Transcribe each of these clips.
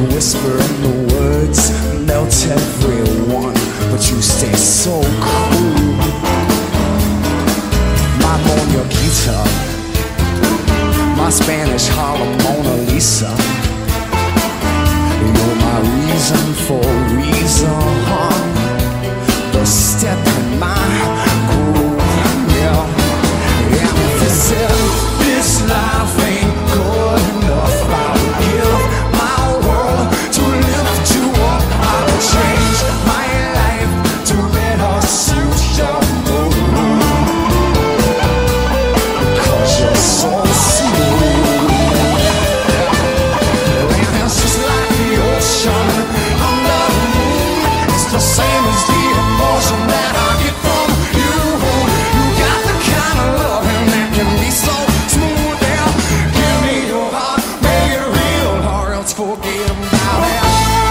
whisper in the words, melt everyone, but you stay so cool. My Mona Guitar, my Spanish Harlem Mona Lisa. You're my reason for reason, the step in my groove, yeah. And if you said this life ain't good enough, I would give my world to lift you up. I would change my life to better suit your mood, 'cause you're so smooth. And it's just like the ocean under the moon. It's the same as the emotion that I get from you. You got the kind of loving that can be so smooth. Yeah, give me your heart, make it real, or else forget about it.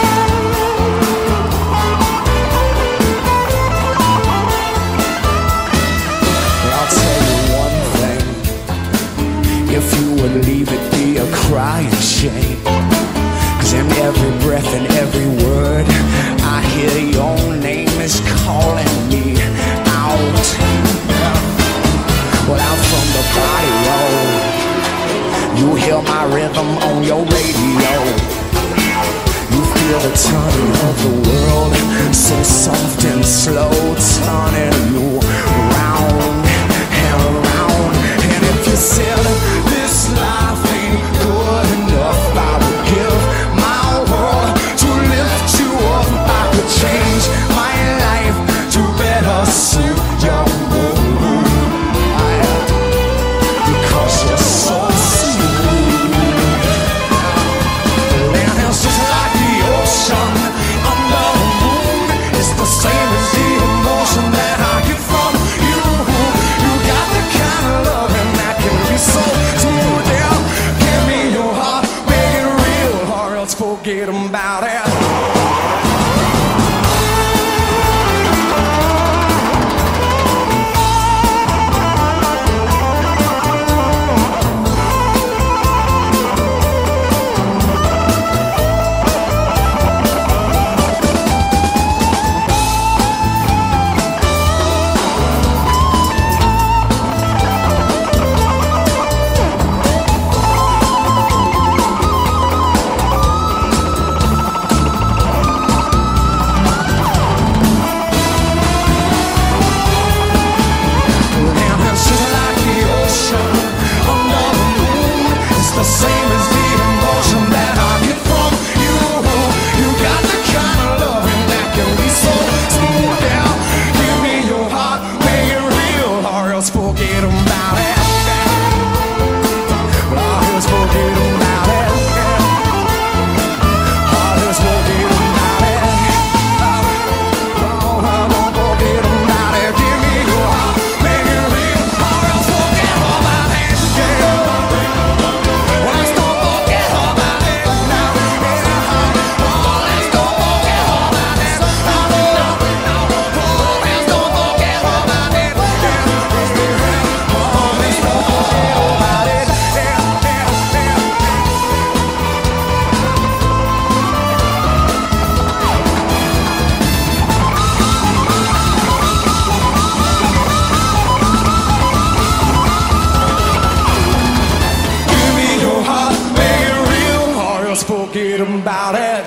I'll tell you one thing, if you would leave it be a crying shame, 'cause in every breath and every word I hear your name is calling me out. Well, out from the barrio, you hear my rhythm on your radio. You feel the turning of the world, so soft and slow, turning you round and around. And if you said this life ain't good enough, I would give my world to lift you up. I could change my life to better suit your mood, because you're so smooth. And it's just like the ocean under the moon. It's the same as the emotion that I get from you. You got the kind of loving that can be so smooth. Yeah, give me your heart, make it real, or else forget about it. Forget about it.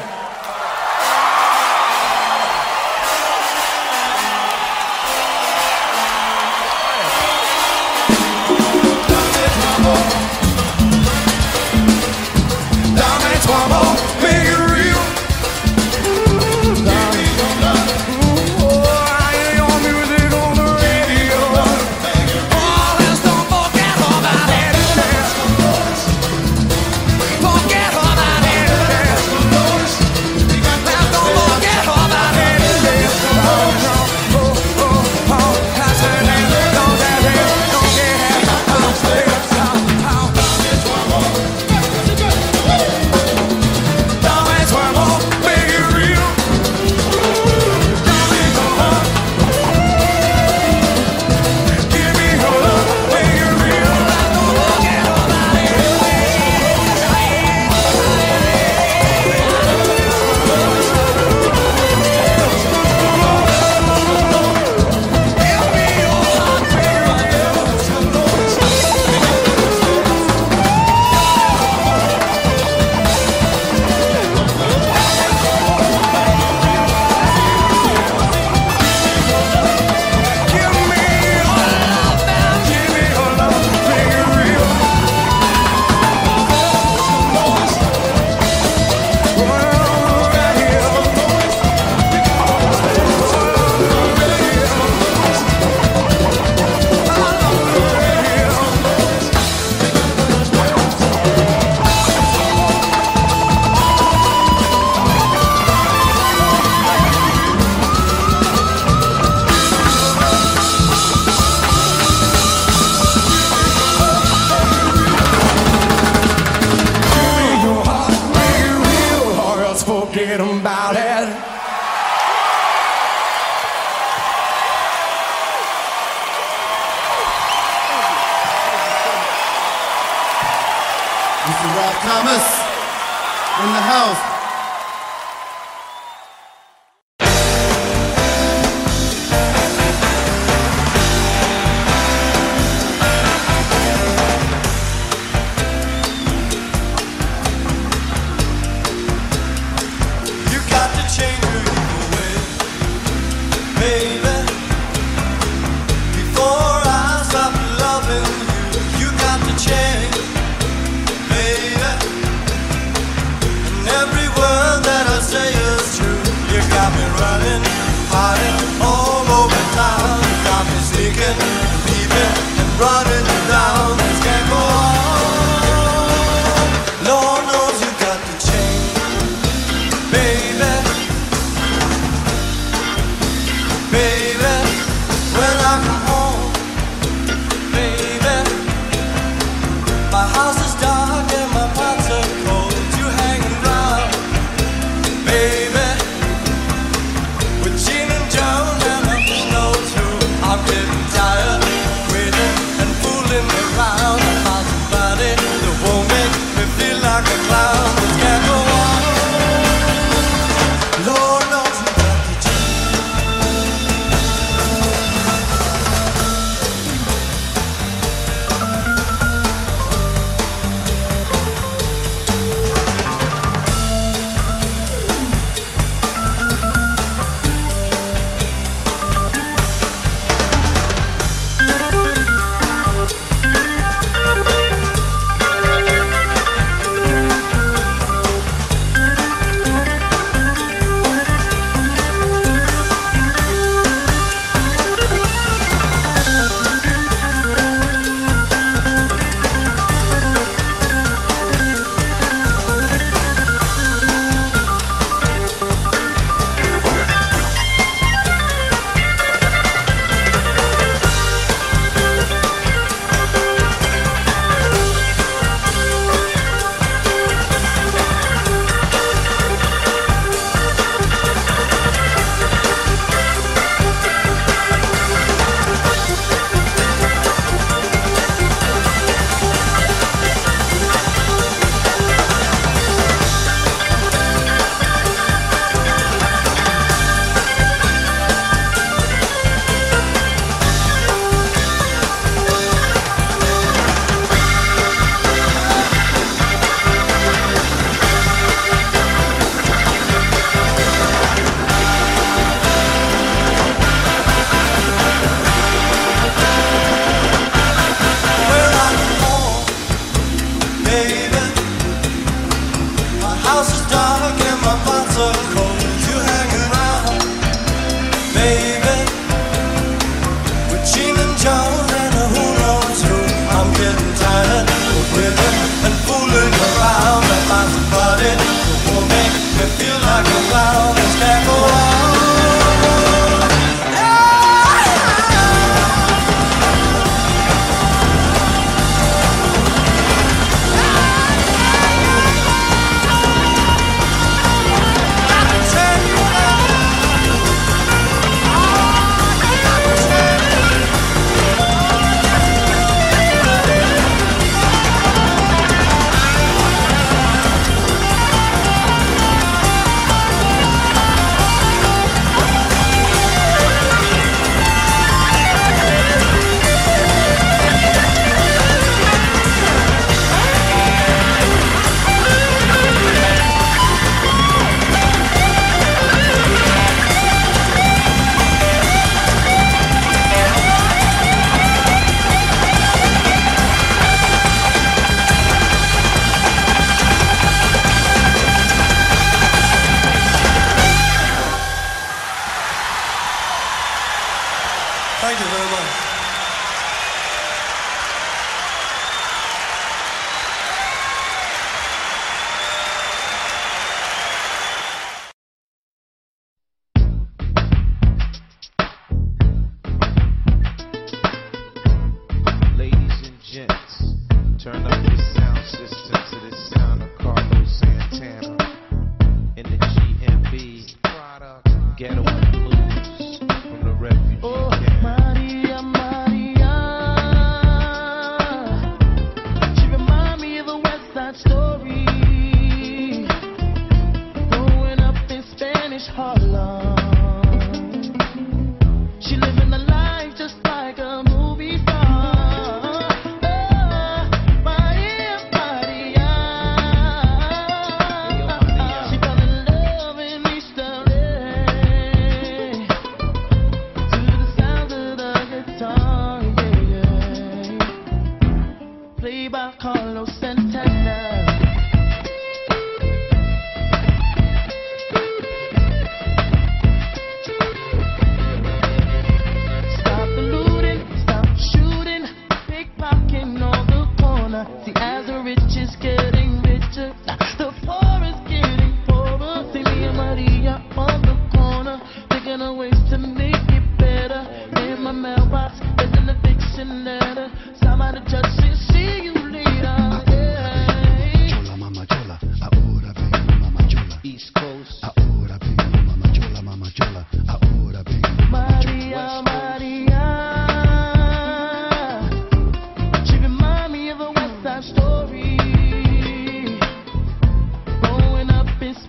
forget about it. Mr. Rob Thomas in the house.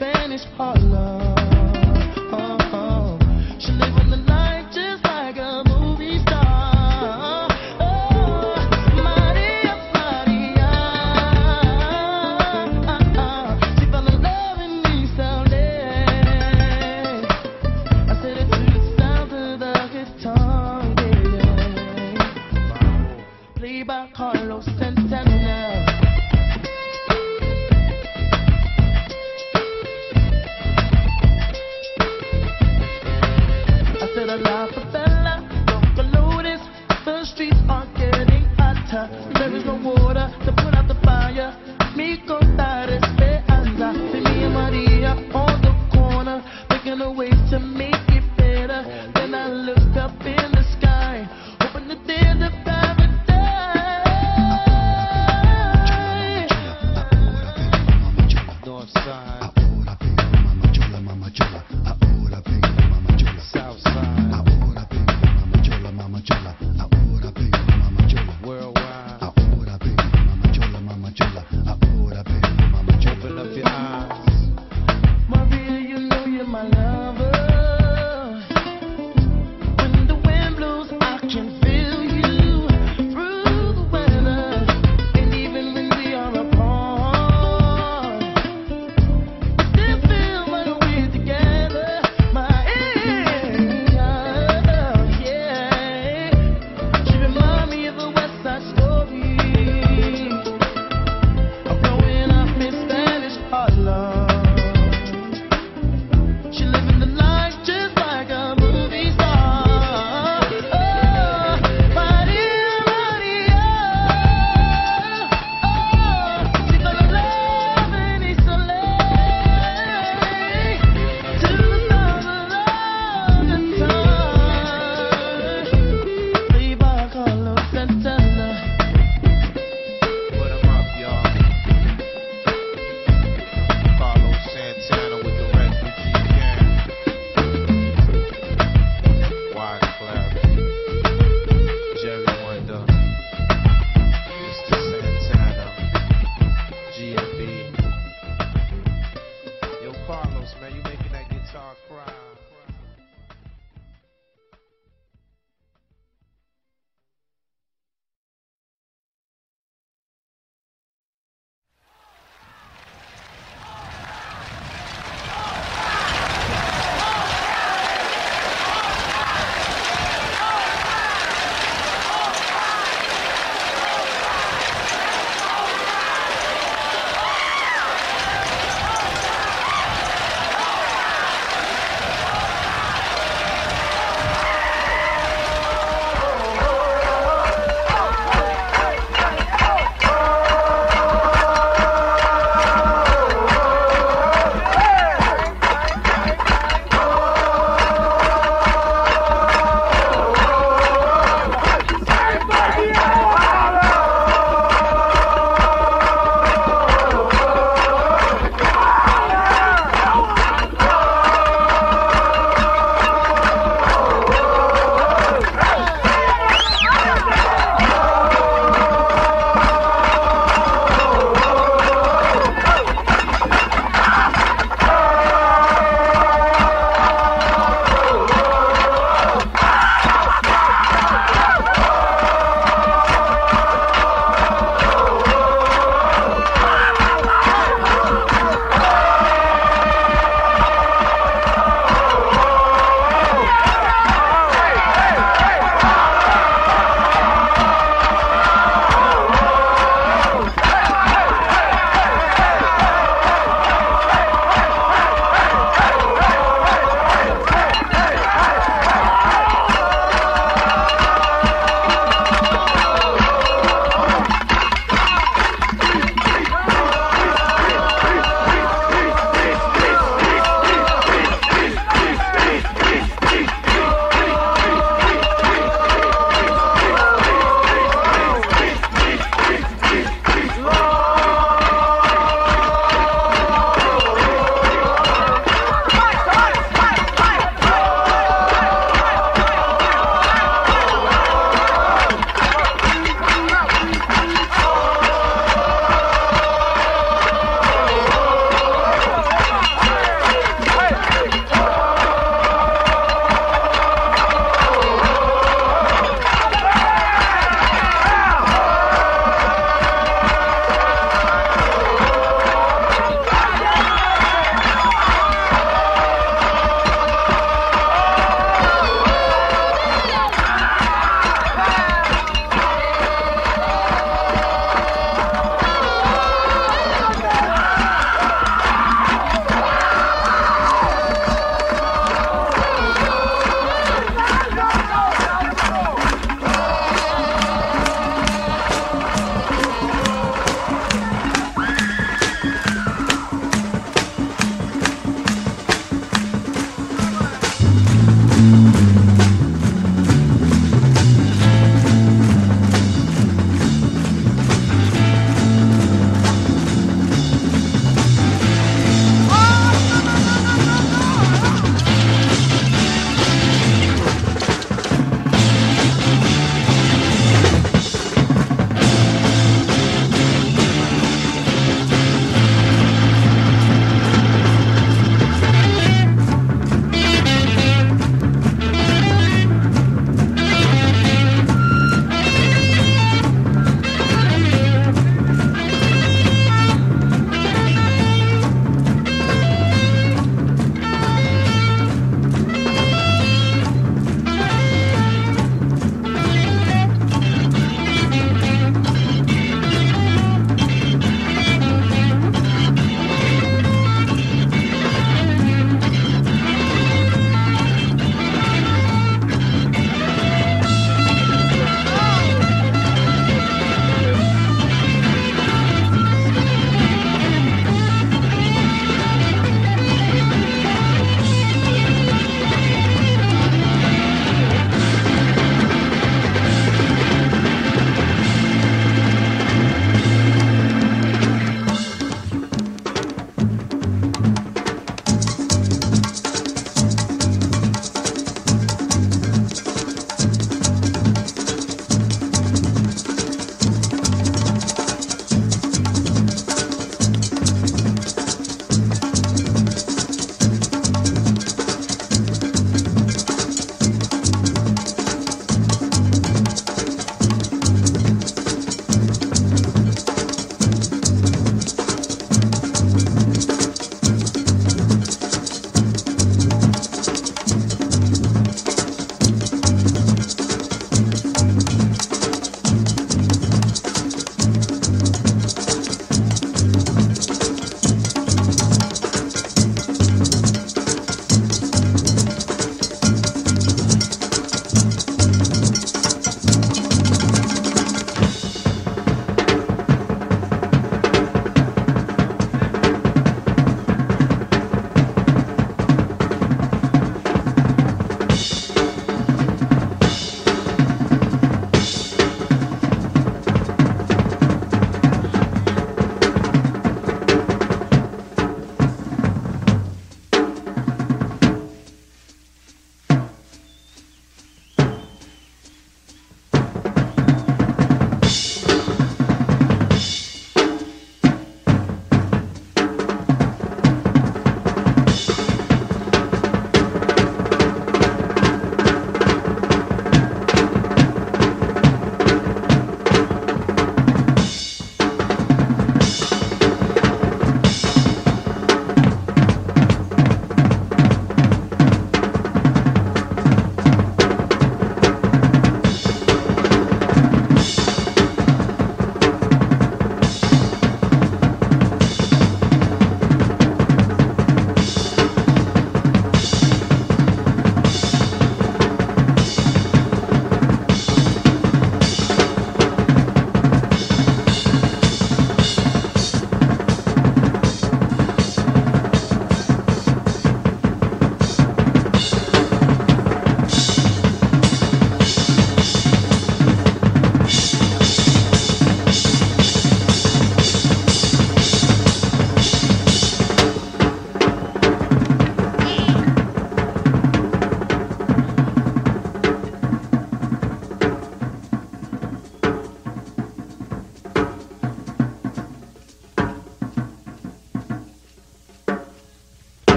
Spanish Harlem. She live on the night just like a movie star. Oh, Maria, Maria. She fell in love with me someday. I said it to the sound of the guitar, yeah. Played by Carlos Santana. La favela, Loca Lotus, the streets are getting hotter. There is no water to put out the fire. Mi contar esperanza. See me and Maria on the corner, thinking of ways to make it better. Then I look up in the sky, hoping that there's a paradise. North side. South side. Story.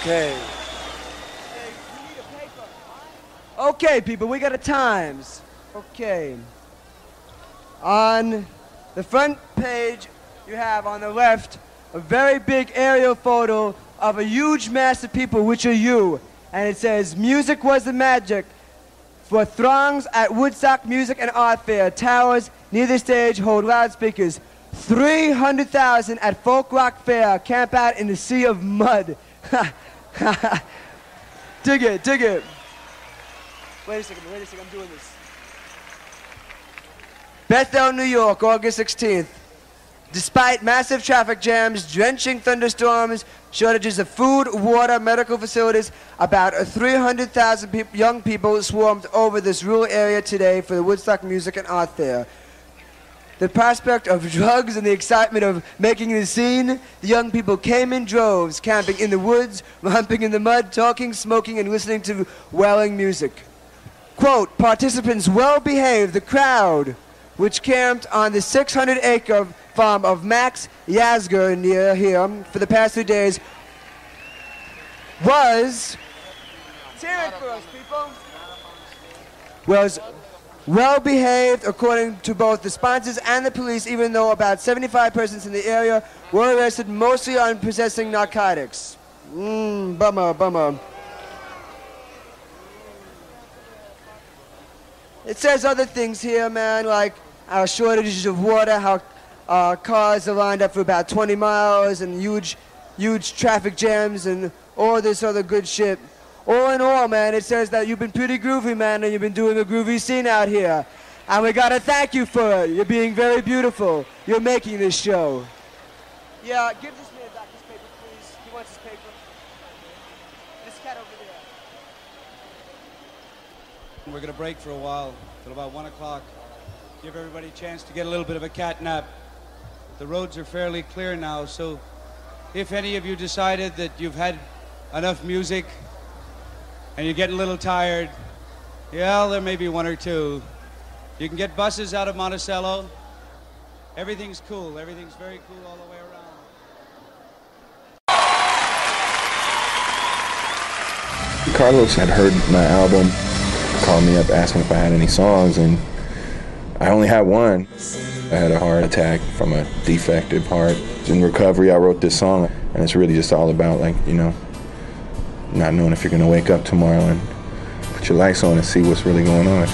Okay. Okay, people, we got a times. Okay. On the front page, you have on the left a very big aerial photo of a huge mass of people, which are you. And it says, music was the magic for throngs at Woodstock Music and Art Fair. Towers near the stage hold loudspeakers. 300,000 at Folk Rock Fair camp out in the sea of mud. Dig it, dig it. Wait a second, I'm doing this. Bethel, New York, August 16th. Despite massive traffic jams, drenching thunderstorms, shortages of food, water, medical facilities, about 300,000 young people swarmed over this rural area today for the Woodstock Music and Art Fair. The prospect of drugs and the excitement of making the scene, the young people came in droves, camping in the woods, romping in the mud, talking, smoking, and listening to wailing music. Quote, participants well behaved, the crowd, which camped on the 600-acre farm of Max Yasgur near here for the past 2 days, was, hear it for us, people, was well behaved according to both the sponsors and the police, even though about 75 persons in the area were arrested, mostly on possessing narcotics. Bummer. It says other things here, man, like our shortages of water, how cars are lined up for about 20 miles and huge traffic jams and all this other good shit. All in all, man, it says that you've been pretty groovy, man, and you've been doing a groovy scene out here. And we gotta thank you for it. You're being very beautiful. You're making this show. Yeah, give this man back his paper, please. He wants his paper. This cat over there. We're gonna break for a while, till about 1 o'clock. Give everybody a chance to get a little bit of a cat nap. The roads are fairly clear now, so if any of you decided that you've had enough music and you're getting a little tired, yeah, there may be one or two. You can get buses out of Monticello. Everything's cool. Everything's very cool all the way around. Carlos had heard my album, called me up asking if I had any songs, and I only had one. I had a heart attack from a defective heart. In recovery, I wrote this song, and it's really just all about, like, you know, not knowing if you're gonna wake up tomorrow and put your lights on and see what's really going on.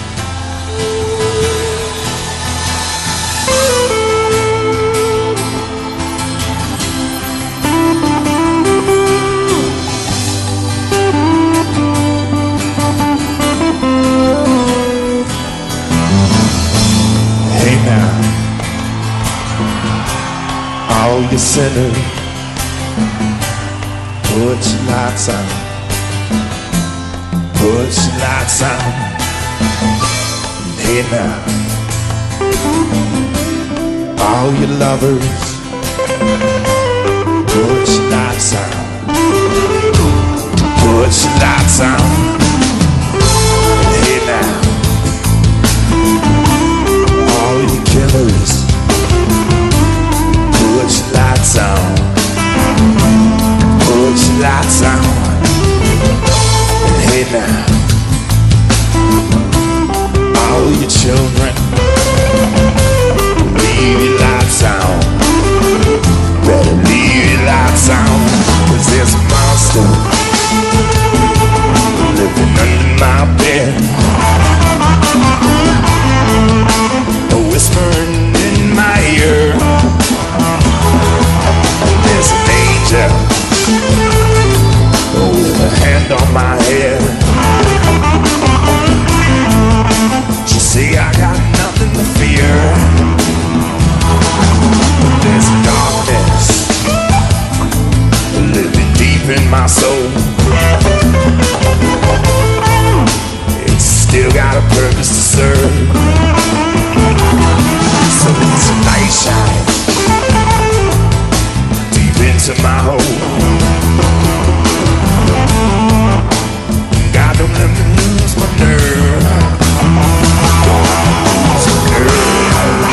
Hey now, all you sinners, put your lights on, put your lights on. Hey now, all you lovers, put your lights on, put your lights on. Hey now, all you killers, put your lights on, put your lights on. And hey now, all your children, leave your lights on, better leave your lights on, 'cause there's a monster living under my bed, whispering in my ear. There's an angel with a hand on my head. She say I got nothing to fear. There's a darkness living deep in my soul. It's still got a purpose to serve. So it's a night shine deep into my hole. God, don't let me lose my nerve. Don't let me lose my nerve.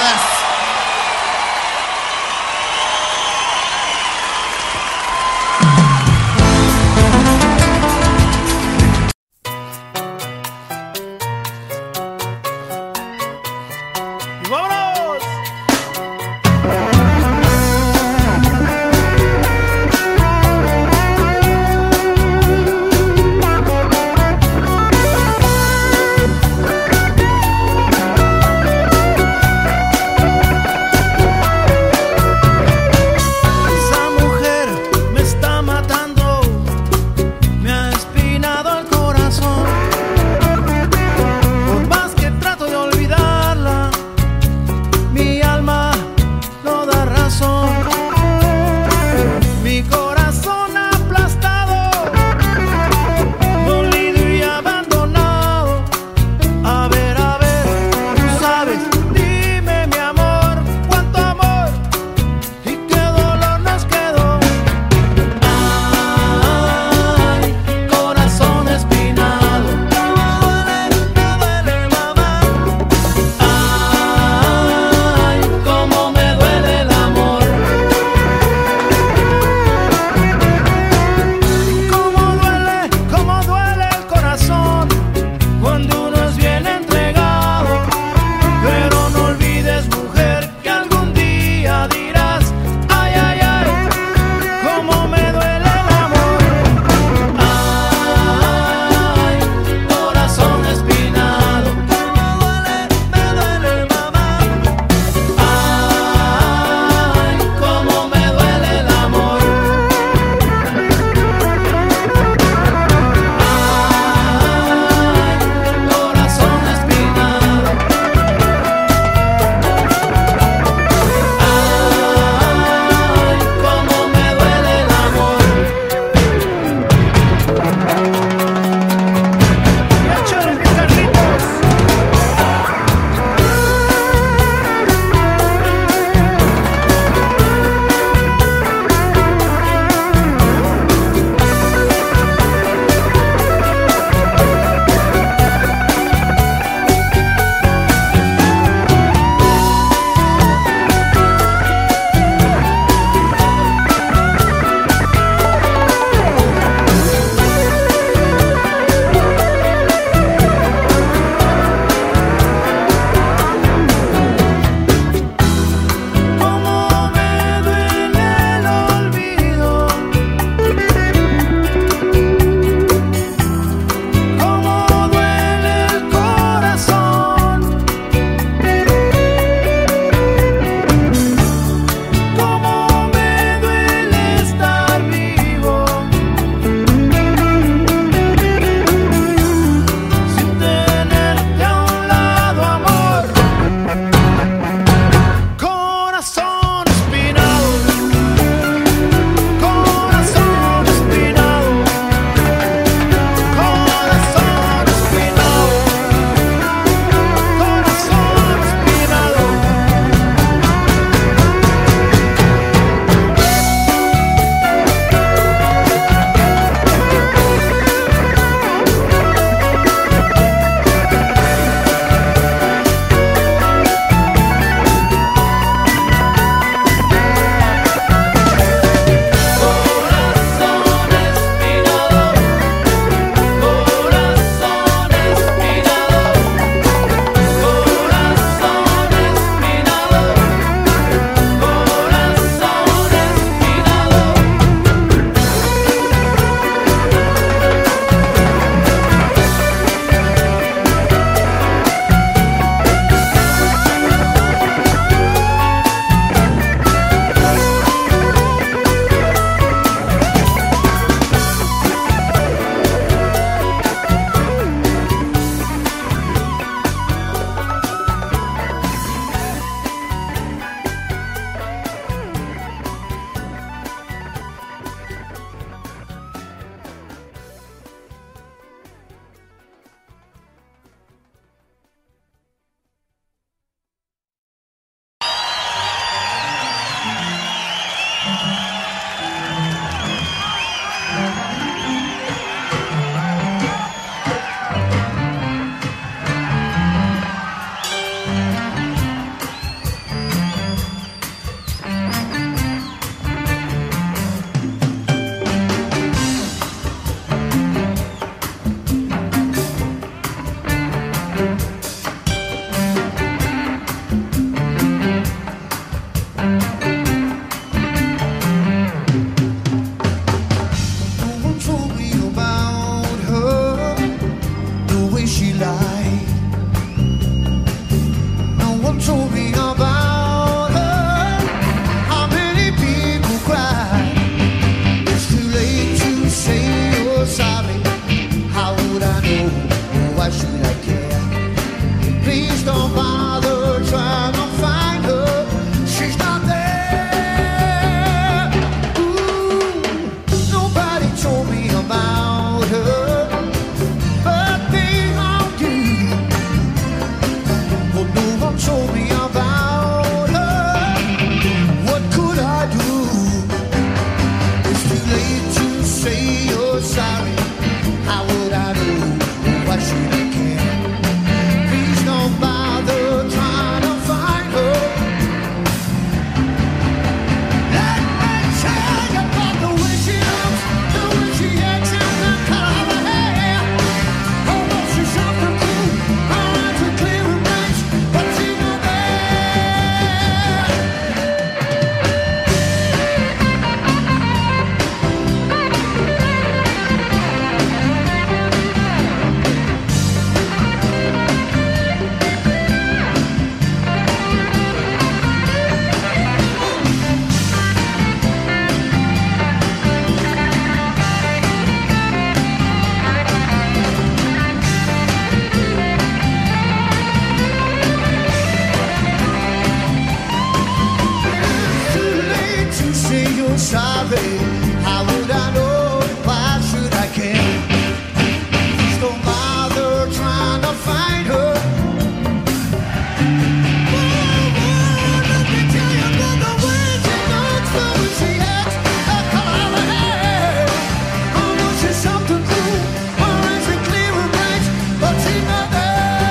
Yes. say you're sorry. How would I know? Why should I care? Please don't bother trying to find her. Let me tell you about the way she looks, the way she acts, the color of her hair. Oh, no, she's something cool, or is it clear and bright? But she's not there.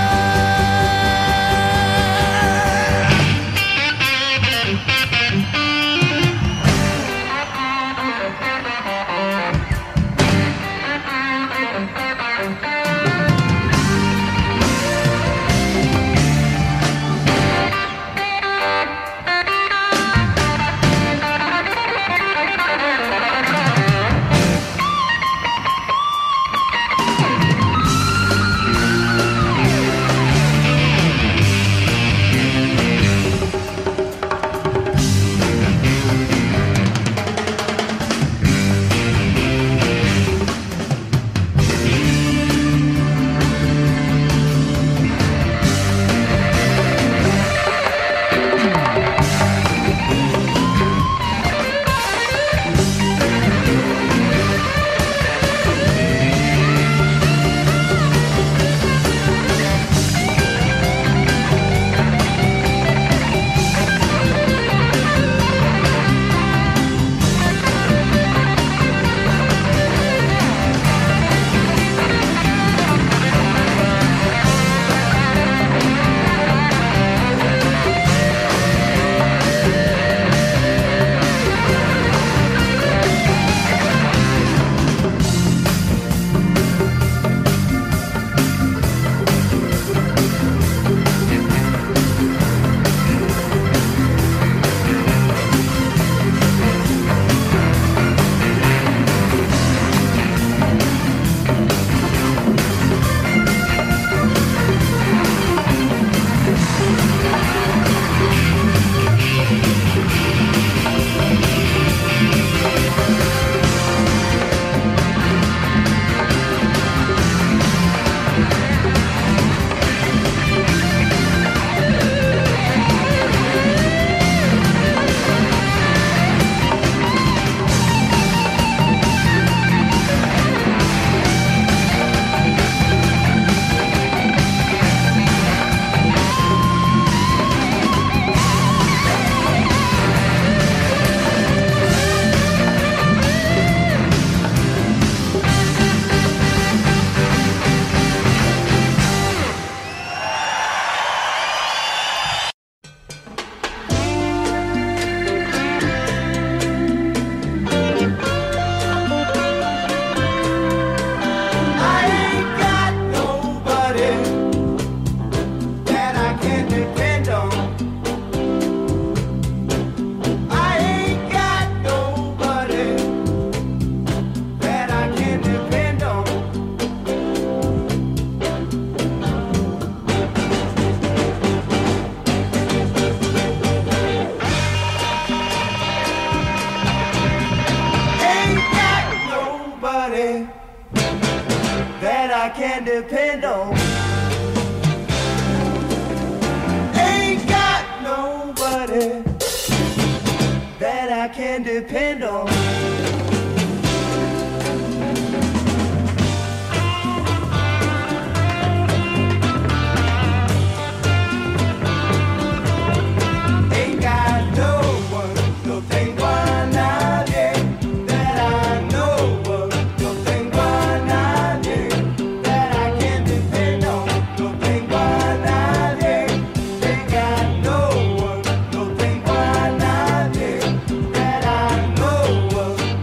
That I can depend on. Ain't got nobody that I can depend on. Ain't got no one, no thing one idea that I know of, no thing one idea that I can depend on, no thing one idea. Ain't got no one, no thing one idea that I know of.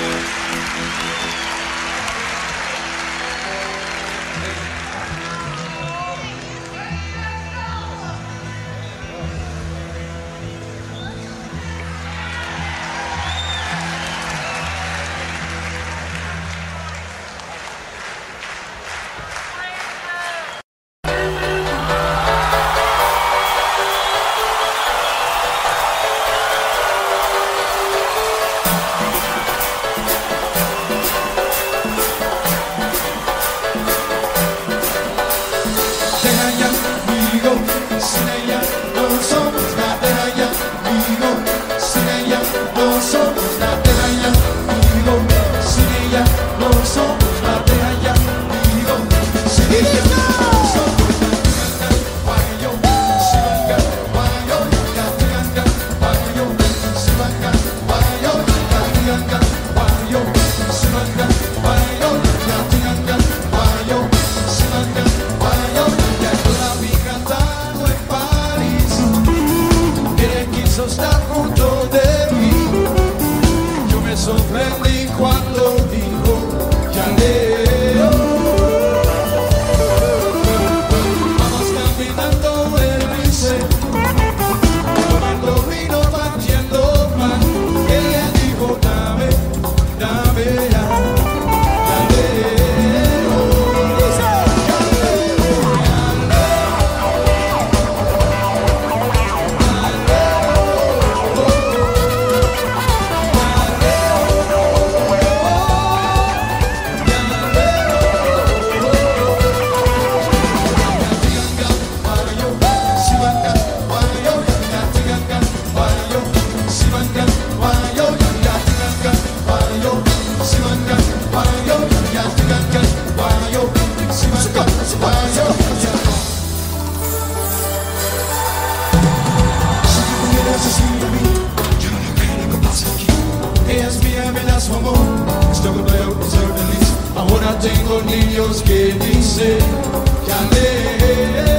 Tengo niños que dicen que